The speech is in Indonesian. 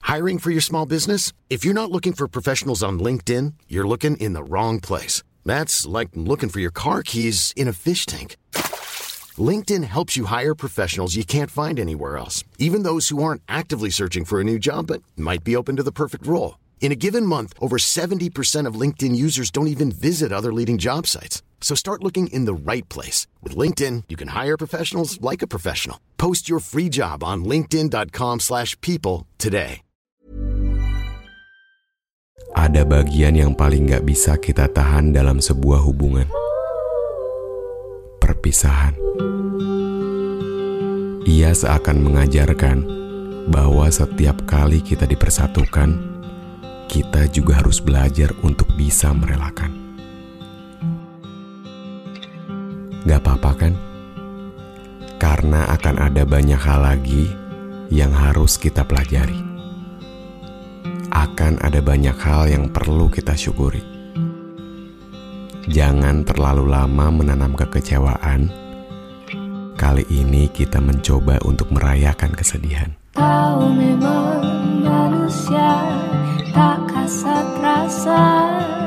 Hiring for your small business? If you're not looking for professionals on LinkedIn, you're looking in the wrong place. That's like looking for your car keys in a fish tank. LinkedIn helps you hire professionals you can't find anywhere else, even those who aren't actively searching for a new job but might be open to the perfect role. In a given month, over 70% of LinkedIn users don't even visit other leading job sites. So start looking in the right place. With LinkedIn, you can hire professionals like a professional. Post your free job on linkedin.com/people today. Ada bagian yang paling gak bisa kita tahan dalam sebuah hubungan. Perpisahan. Ia seakan mengajarkan bahwa setiap kali kita dipersatukan, kita juga harus belajar untuk bisa merelakan. Gak apa-apa kan? Karena akan ada banyak hal lagi yang harus kita pelajari. Akan ada banyak hal yang perlu kita syukuri. Jangan terlalu lama menanam kekecewaan. Kali ini kita mencoba untuk merayakan kesedihan. Tahu memang manusia tak kasat rasa.